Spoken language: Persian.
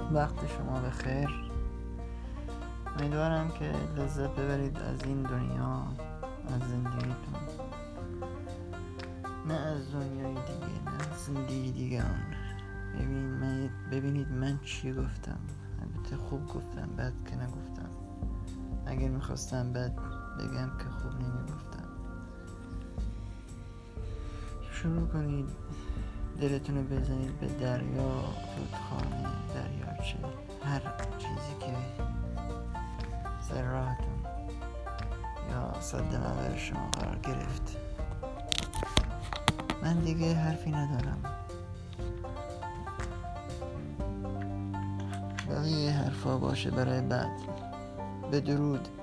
وقت شما بخیر. امیدوارم که لذت ببرید از این دنیا، از زندگیتون، نه از دنیای دیگه، نه از زندگی دیگران. ببینید من چی گفتم. البته خوب گفتم، بد که نگفتم. اگر میخواستم بد بگم که خوب نمیگفتم. شروع کنید دلتون رو بزنید به دریا، رودخانه، دریاچه، هر چیزی که سر راهتون یا صد نظر شما قرار گرفت. من دیگه حرفی ندارم. بقیه حرفا باشه برای بعد. بدرود.